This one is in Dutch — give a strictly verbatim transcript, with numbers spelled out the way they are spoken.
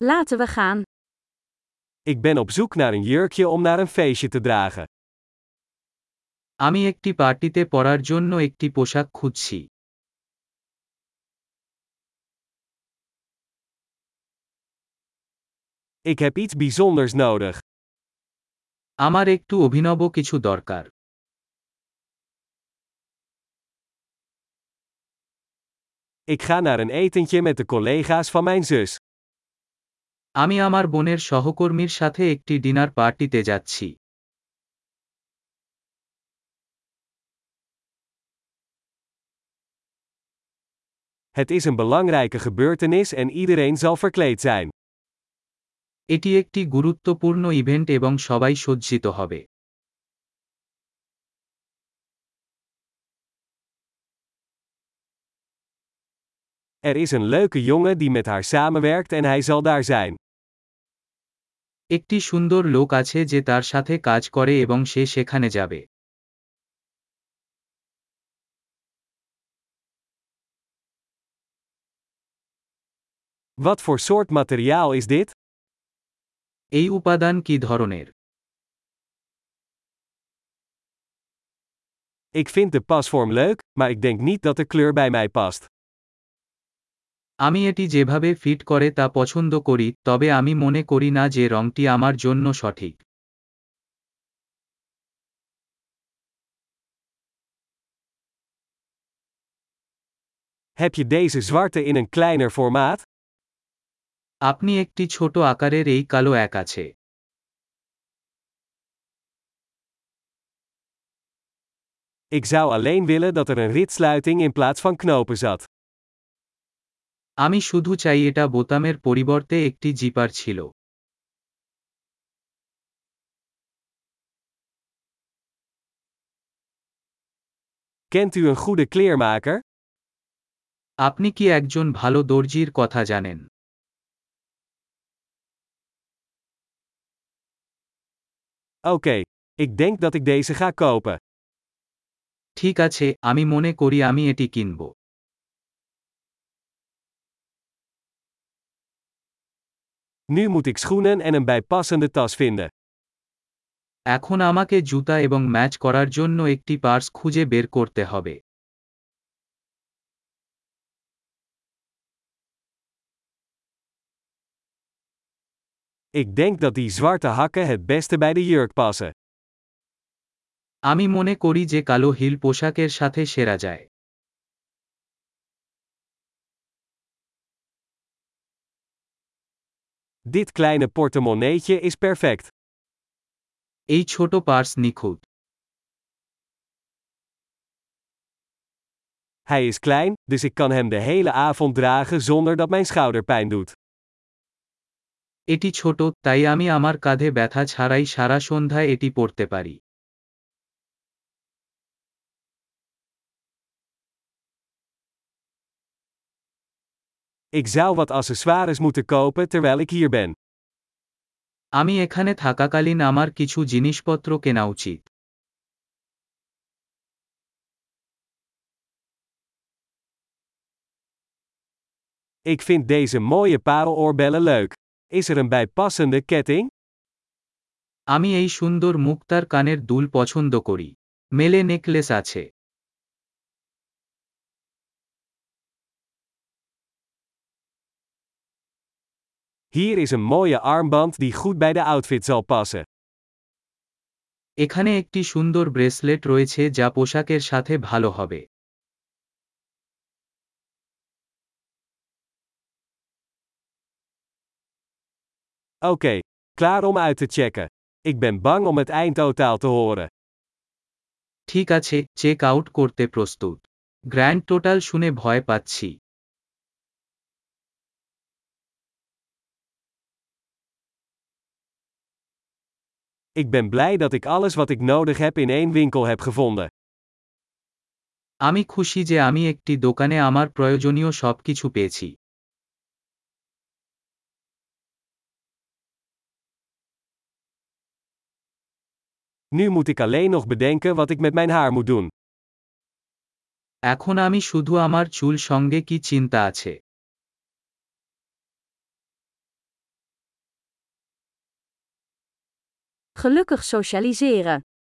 Laten we gaan. Ik ben op zoek naar een jurkje om naar een feestje te dragen. আমি একটি পার্টিতে পরার জন্য একটি পোশাক খুঁজছি। Ik heb iets bijzonders nodig. আমার একটু অভিনব কিছু দরকার। Ik ga naar een etentje met de collega's van mijn zus. আমি আমার বোনের সহকর্মীর সাথে একটি ডিনার পার্টিতে যাচ্ছি। Het is een belangrijke gebeurtenis en iedereen zal verkleed zijn. এটি একটি গুরুত্বপূর্ণ ইভেন্ট এবং সবাই সজ্জিত হবে। Er is een leuke jongen die met haar samenwerkt en hij zal daar zijn. একটি সুন্দর লোক আছে যে তার সাথে কাজ করে এবং সে সেখানে যাবে। Wat voor soort materiaal is dit? এই উপাদান কি ধরনের? Ik vind de pasvorm leuk, maar ik denk niet dat de kleur bij mij past. আমি এটি যেভাবে ফিট করে তা পছন্দ করি, তবে আমি মনে করি না যে রংটি আমার জন্য সঠিক। Heb je deze zwarte in een kleiner formaat? আপনি একটি ছোট আকারের এই কালো এক আছে। Ik zou alleen willen dat er een ritsluiting in plaats van knopen zat. আমি শুধু চাই এটা বোতামের পরিবর্তে একটি জিপার ছিল। Kent u een goede kleermaker? আপনি কি একজন ভালো দর্জির কথা জানেন? Oké, ik denk dat ik deze ga kopen. ঠিক আছে, আমি মনে করি আমি এটি কিনব। Nu moet ik schoenen en een bijpassende tas vinden. এখন আমাকে জুতা এবং ম্যাচ করার জন্য একটি পার্স খুঁজে বের করতে হবে। Ik denk dat die zwarte hakken het beste bij de jurk passen. আমি মনে করি যে কালো হিল পোশাকের সাথে সেরা যায়। Dit kleine portemonneetje is perfect. এই ছোট পার্স নিখুঁত। Hij is klein, dus ik kan hem de hele avond dragen zonder dat mijn schouder pijn doet. এটি ছোট, তাই আমি আমার কাঁধে ব্যথা ছাড়াই সারা সন্ধ্যায় এটি পরতে পারি। Ik zou wat accessoires moeten kopen terwijl ik hier ben. আমি এখানে থাকাকালীন আমার কিছু জিনিসপত্র কেনা উচিত। Ik vind deze mooie pareloorbellen leuk. Is er een bijpassende ketting? আমি এই সুন্দর মুক্তার কানের দুল পছন্দ করি। মেলে নেকলেস আছে। Hier is een mooie armband die goed bij de outfit zal passen. এখানে একটি সুন্দর ব্রেসলেট রয়েছে যা পোশাকের সাথে ভালো হবে। Oké, klaar om uit te checken. Ik ben bang om het eindtotaal te horen. ঠিক আছে, চেক আউট করতে প্রস্তুত। গ্র্যান্ড টোটাল শুনে ভয় পাচ্ছি। Ik ben blij dat ik alles wat ik nodig heb in één winkel heb gevonden. আমি খুশি যে আমি একটি দোকানে আমার প্রয়োজনীয় সবকিছু পেয়েছি। Nu moet ik alleen nog bedenken wat ik met mijn haar moet doen. এখন আমি শুধু আমার চুল সঙ্গে কি চিন্তা আছে। Gelukkig socialiseren.